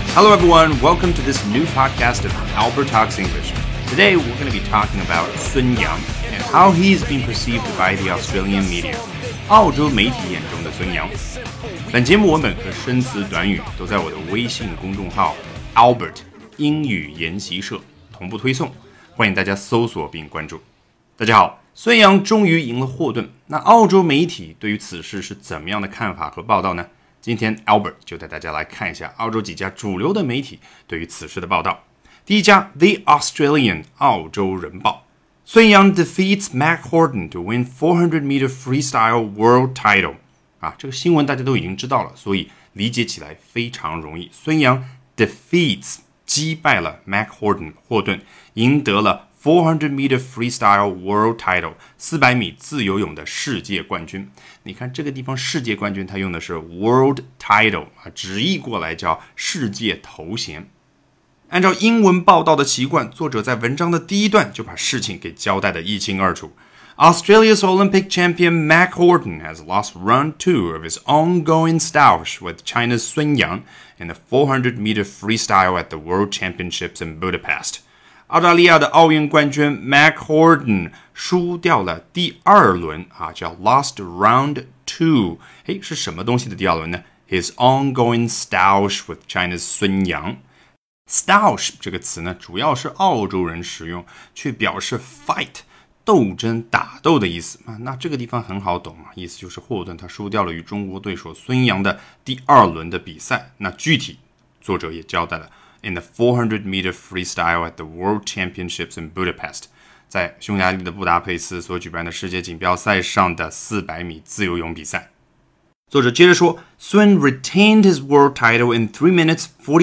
Hello everyone, welcome to this new podcast of Albert Talks English. Today we're going to be talking about Sun Yang and how he's been perceived by the Australian media. 澳洲媒体眼中的孙杨。本节目文本和生词短语都在我的微信公众号 Albert 英语研习社同步推送，欢迎大家搜索并关注。大家好，孙杨终于赢了霍顿，那澳洲媒体对于此事是怎么样的看法和报道呢？今天 Albert 就带大家来看一下澳洲几家主流的媒体对于此事的报道。第一家 The Australian 澳洲人报，孙杨 defeats Mac Horton to win 400-meter freestyle world title。这个新闻大家都已经知道了，所以理解起来非常容易。孙杨 defeats 击败了 Mac Horton 霍顿，赢得了 400-meter freestyle world title 400米自由泳的世界冠军。你看这个地方世界冠军，它用的是 world title 直译过来叫世界头衔。按照英文报道的习惯，作者在文章的第一段就把事情给交代得一清二楚。Australia's Olympic champion Mac Horton has lost round 2 of his ongoing stoush with China's Sun Yang in the 400-meter freestyle at the World Championships in Budapest. 澳大利亚的奥运冠军 Mac Horton 输掉了第二轮叫 lost round 2。是什么东西的第二轮呢？ His ongoing stoush with China's Sun Yang。Stoush 这个词呢，主要是澳洲人使用，去表示 fight 斗争打斗的意思。那这个地方很好懂意思就是霍顿他输掉了与中国对手孙杨的第二轮的比赛。那具体作者也交代了 In the 400-meter freestyle at the World Championships in Budapest， 在匈牙利的布达佩斯所举办的世界锦标赛上的400米自由泳比赛。作者接着说 Sun retained his world title in 3 minutes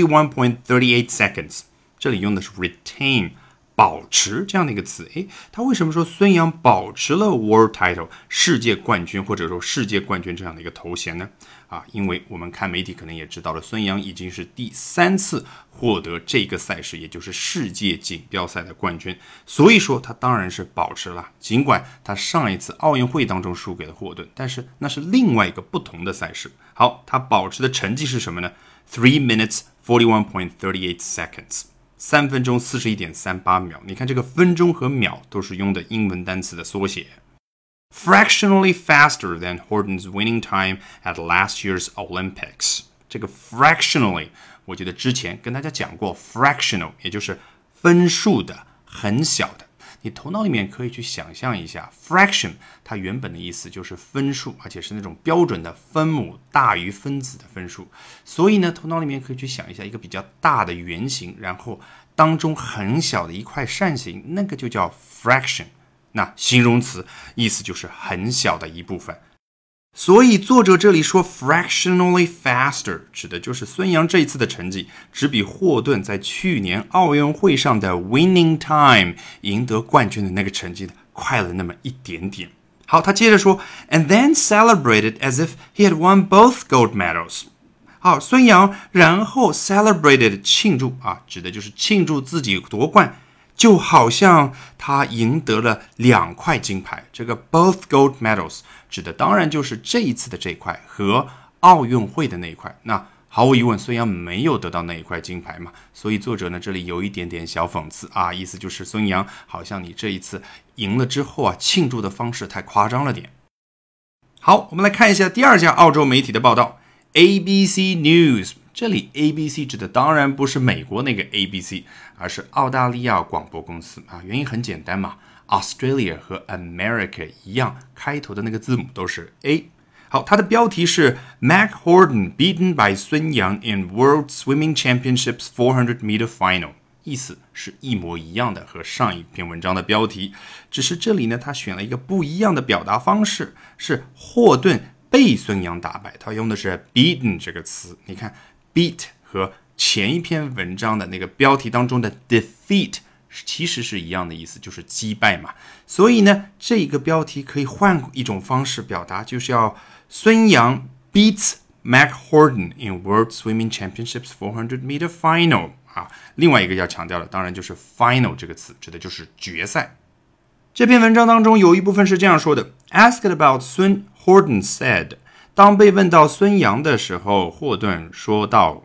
41.38 seconds。 这里用的是 retain 保持这样的一个词。他为什么说孙杨保持了 world title 世界冠军或者说世界冠军这样的一个头衔呢？因为我们看媒体可能也知道了，孙杨已经是第3次获得这个赛事，也就是世界锦标赛的冠军，所以说他当然是保持了。尽管他上一次奥运会当中输给了霍顿，但是那是另外一个不同的赛事。好，他保持的成绩是什么呢？ 3 minutes 41.38 seconds， 3分钟41.38秒。你看这个分钟和秒都是用的英文单词的缩写。Fractionally faster than Horton's winning time at last year's Olympics。 这个 fractionally 我记得之前跟大家讲过 fractional 也就是分数的很小的。你头脑里面可以去想象一下 fraction 它原本的意思就是分数，而且是那种标准的分母大于分子的分数。所以呢头脑里面可以去想一下一个比较大的圆形，然后当中很小的一块扇形，那个就叫 fraction。那形容词意思就是很小的一部分。所以作者这里说 fractionally faster 指的就是孙杨这一次的成绩只比霍顿在去年奥运会上的 winning time 赢得冠军的那个成绩快了那么一点点。好，他接着说 and then celebrated as if he had won both gold medals。 好，孙杨然后 celebrated 庆祝指的就是庆祝自己夺冠，就好像他赢得了2块金牌。这个 both gold medals 指的当然就是这一次的这一块和奥运会的那一块。那毫无疑问孙杨没有得到那一块金牌嘛，所以作者呢这里有一点点小讽刺意思就是孙杨好像你这一次赢了之后庆祝的方式太夸张了点。好，我们来看一下第二家澳洲媒体的报道 ABC News。这里 ABC 指的当然不是美国那个 ABC， 而是澳大利亚广播公司原因很简单嘛， Australia 和 America 一样，开头的那个字母都是 A。 好，它的标题是 Mac Horton beaten by Sun Yang in World Swimming Championships 400-meter final， 意思是一模一样的，和上一篇文章的标题，只是这里呢他选了一个不一样的表达方式，是霍顿被孙杨打败，他用的是 beaten 这个词。你看beat 和前一篇文章的那个标题当中的 defeat 其实是一样的意思，就是击败嘛。所以呢这个标题可以换一种方式表达，就是要孙杨 beats Mac Horton in World Swimming Championships 400-meter final。 另外一个要强调的当然就是 final 这个词，指的就是决赛。这篇文章当中有一部分是这样说的 Asked about Sun, Horton said， 当被问到孙杨的时候，霍顿说道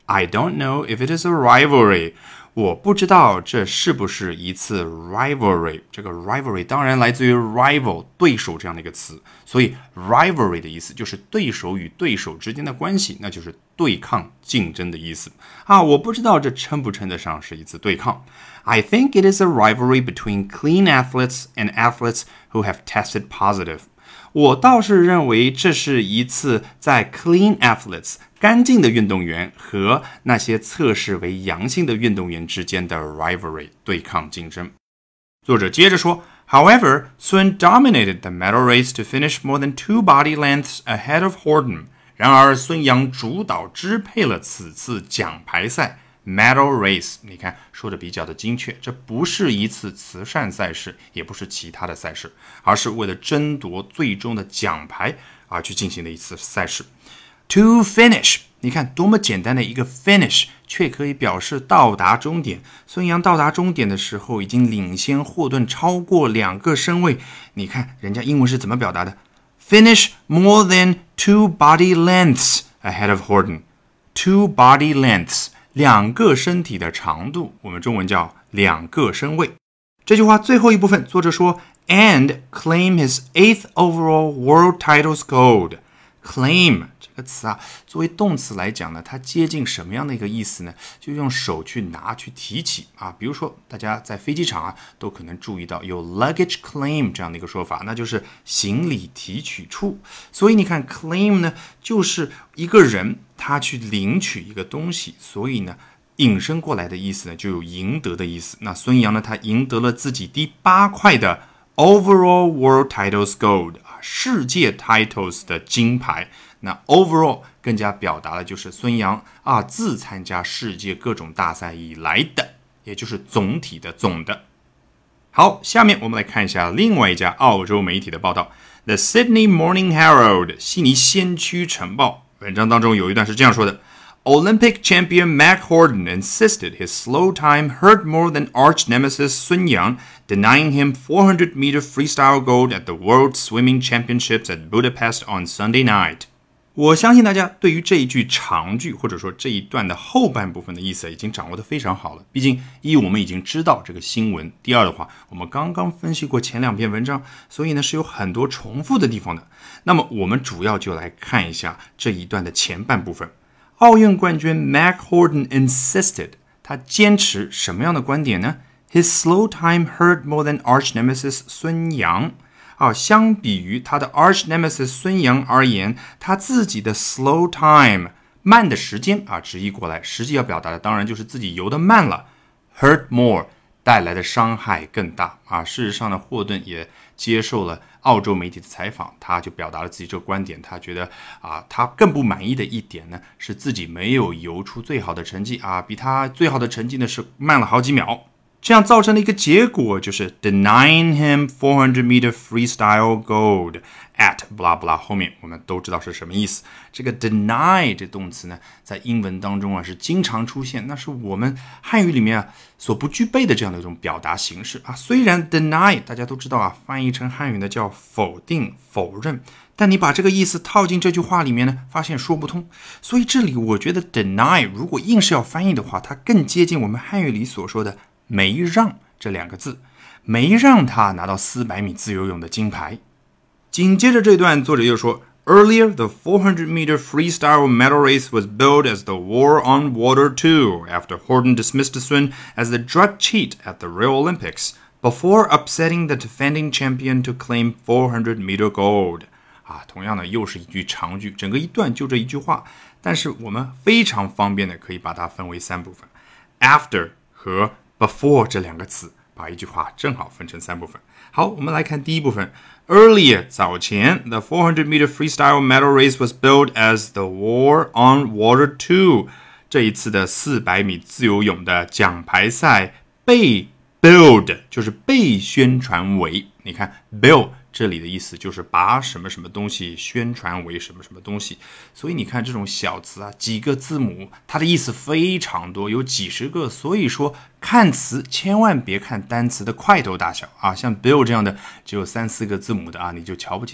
I don't know if it is a rivalry. 我不知道这是不是一次 rivalry。 这个 rivalry 当然来自于 rival 对手这样的一个词，所以 rivalry 的意思就是对手与对手之间的关系，那就是对抗竞争的意思啊。我不知道这称不称得上是一次对抗。I think it is a rivalry between clean athletes and athletes who have tested positive. 我倒是认为这是一次在 clean athletes 干净的运动员和那些测试为阳性的运动员之间的 rivalry 对抗竞争。作者接着说 However, Sun dominated the medal race to finish more than 2 body lengths ahead of Horton. 然而孙杨主导支配了此次奖牌赛Medal race， 你看说的比较的精确，这不是一次慈善赛事，也不是其他的赛事，而是为了争夺最终的奖牌而去进行的一次赛事。To finish， 你看多么简单的一个 finish， 却可以表示到达终点。孙杨到达终点的时候已经领先霍顿超过2个身位，你看人家英文是怎么表达的 ？Finish more than 2 body lengths ahead of Horton. 2 body lengths。2个身体的长度，我们中文叫2个身位。这句话最后一部分，作者说 and claim his 8th overall world titles gold. Claim 这个词啊，作为动词来讲呢，它接近什么样的一个意思呢？就用手去拿去提起啊。比如说大家在飞机场啊，都可能注意到有 luggage claim 这样的一个说法，那就是行李提取处。所以你看 claim 呢，就是一个人他去领取一个东西，所以呢引申过来的意思呢就有赢得的意思。那孙杨呢，他赢得了自己第8块的 overall world titles gold， 世界 titles 的金牌。那 overall 更加表达的就是孙杨啊自参加世界各种大赛以来的，也就是总体的总的。好，下面我们来看一下另外一家澳洲媒体的报道 The Sydney Morning Herald 悉尼先驱晨报。文章当中有一段是这样说的 Olympic champion Mac Horton insisted his slow time hurt more than arch nemesis Sun Yang, denying him 400-meter freestyle gold at the World Swimming Championships at Budapest on Sunday night. 我相信大家对于这一句长句或者说这一段的后半部分的意思已经掌握得非常好了。毕竟一我们已经知道这个新闻，第二的话我们刚刚分析过前2篇文章，所以呢是有很多重复的地方的。那么我们主要就来看一下这一段的前半部分。奥运冠军 Mac Horton insisted 他坚持什么样的观点呢？ His slow time hurt more than arch nemesis 孙杨相比于他的 arch nemesis 孙杨而言，他自己的 slow time 慢的时间直译过来实际要表达的当然就是自己游得慢了 hurt more 带来的伤害更大事实上呢，霍顿也接受了澳洲媒体的采访，他就表达了自己这个观点，他觉得他更不满意的一点呢是自己没有游出最好的成绩比他最好的成绩呢是慢了好几秒。这样造成的一个结果就是 denying him 400-meter freestyle gold at blah blah 后面我们都知道是什么意思。这个 deny 这动词呢，在英文当中是经常出现，那是我们汉语里面所不具备的这样的一种表达形式虽然 deny 大家都知道翻译成汉语呢叫否定否认，但你把这个意思套进这句话里面呢，发现说不通。所以这里我觉得 deny 如果硬是要翻译的话，它更接近我们汉语里所说的没让这2个字，没让他拿到400米自由泳的金牌。紧接着这段作者又说 Earlier, the 400-meter freestyle medal race was billed as the War on Water 2 after Horton dismissed Sun as the drug cheat at the Rio Olympics before upsetting the defending champion to claim 400-meter gold. 同样的又是一句长句，整个一段就这一句话，但是我们非常方便的可以把它分为3部分 After 和before 这2个词把一句话正好分成3部分。好，我们来看第一部分 Earlier 早前 the 400-meter freestyle medal race was billed as the War on Water 2 这一次的400米自由泳的奖牌赛被 billed 就是被宣传为，你看 bill 这里的意思就是把什么什么东西宣传为什么什么东西，所以你看这种小词几个字母它的意思非常多，有几十个，所以说看词千万别看单词的块头大小像 bill 这样的只有3-4个字母的你就瞧不起它，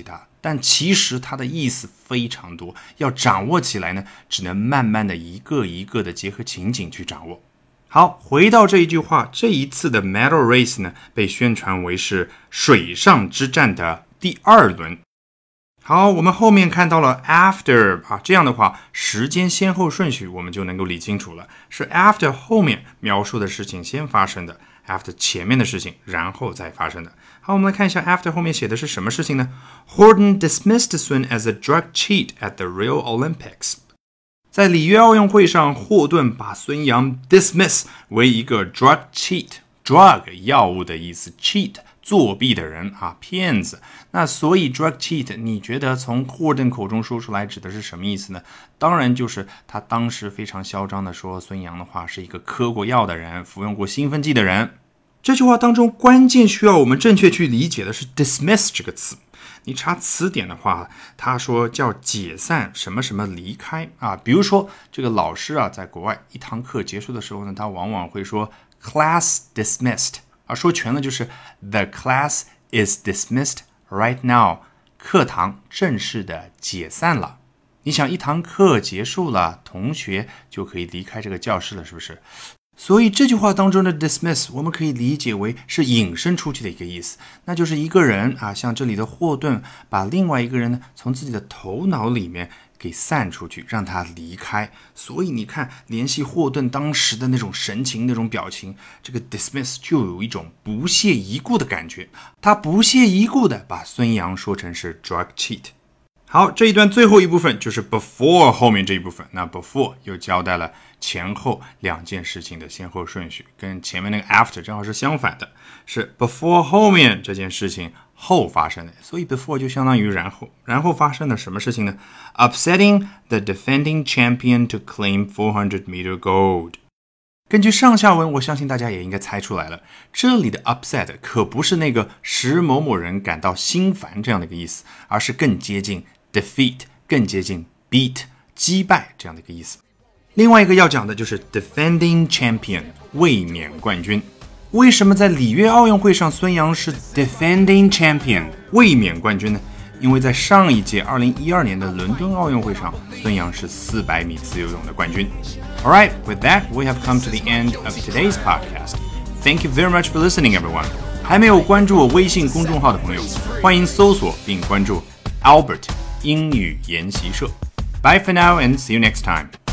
但其实它的意思非常多，要掌握起来呢，只能慢慢的一个一个的结合情景去掌握。好，回到这一句话，这一次的 medal race 呢，被宣传为是水上之战的第2轮。好，我们后面看到了 after 这样的话，时间先后顺序我们就能够理清楚了，是 after 后面描述的事情先发生的， after 前面的事情然后再发生的。好，我们来看一下 after 后面写的是什么事情呢？ Horton dismissed Sun as a drug cheat at the Rio Olympics。 在里约奥运会上，霍顿把孙杨 dismiss 为一个 drug cheat， drug 药物的意思， cheat 作弊的人骗子。那所以 drug cheat 你觉得从霍顿口中说出来指的是什么意思呢？当然就是他当时非常嚣张的说孙杨的话是一个嗑过药的人，服用过兴奋剂的人。这句话当中关键需要我们正确去理解的是 dismiss 这个词。你查词典的话，他说叫解散什么什么离开比如说这个老师在国外一堂课结束的时候呢，他往往会说 class dismissed，说全了就是 the class is dismissed right now， 课堂正式的解散了。你想一堂课结束了，同学就可以离开这个教室了，是不是？所以这句话当中的 dismiss 我们可以理解为是引申出去的一个意思，那就是一个人像这里的霍顿把另外一个人呢从自己的头脑里面给散出去，让他离开。所以你看联系霍顿当时的那种神情那种表情，这个 dismiss 就有一种不屑一顾的感觉，他不屑一顾的把孙杨说成是 drug cheat。好，这一段最后一部分就是 before 后面这一部分。那 before 又交代了前后两件事情的先后顺序，跟前面那个 after 正好是相反的，是 before 后面这件事情后发生的，所以 before 就相当于然后发生了什么事情呢？ Upsetting the defending champion to claim 400 meter gold。 根据上下文，我相信大家也应该猜出来了，这里的 upset 可不是那个使某某人感到心烦这样的一个意思，而是更接近 defeat， 更接近 beat， 击败这样的一个意思。另外一个要讲的就是 defending champion， 卫冕冠军。为什么在里约奥运会上孙杨是 defending champion， 卫冕冠军呢？因为在上一届2012年的伦敦奥运会上，孙杨是400米自由泳的冠军。Alright, with that, we have come to the end of today's podcast. Thank you very much for listening, everyone. 还没有关注我微信公众号的朋友，欢迎搜索并关注 Albert 英语研习社。Bye for now and see you next time.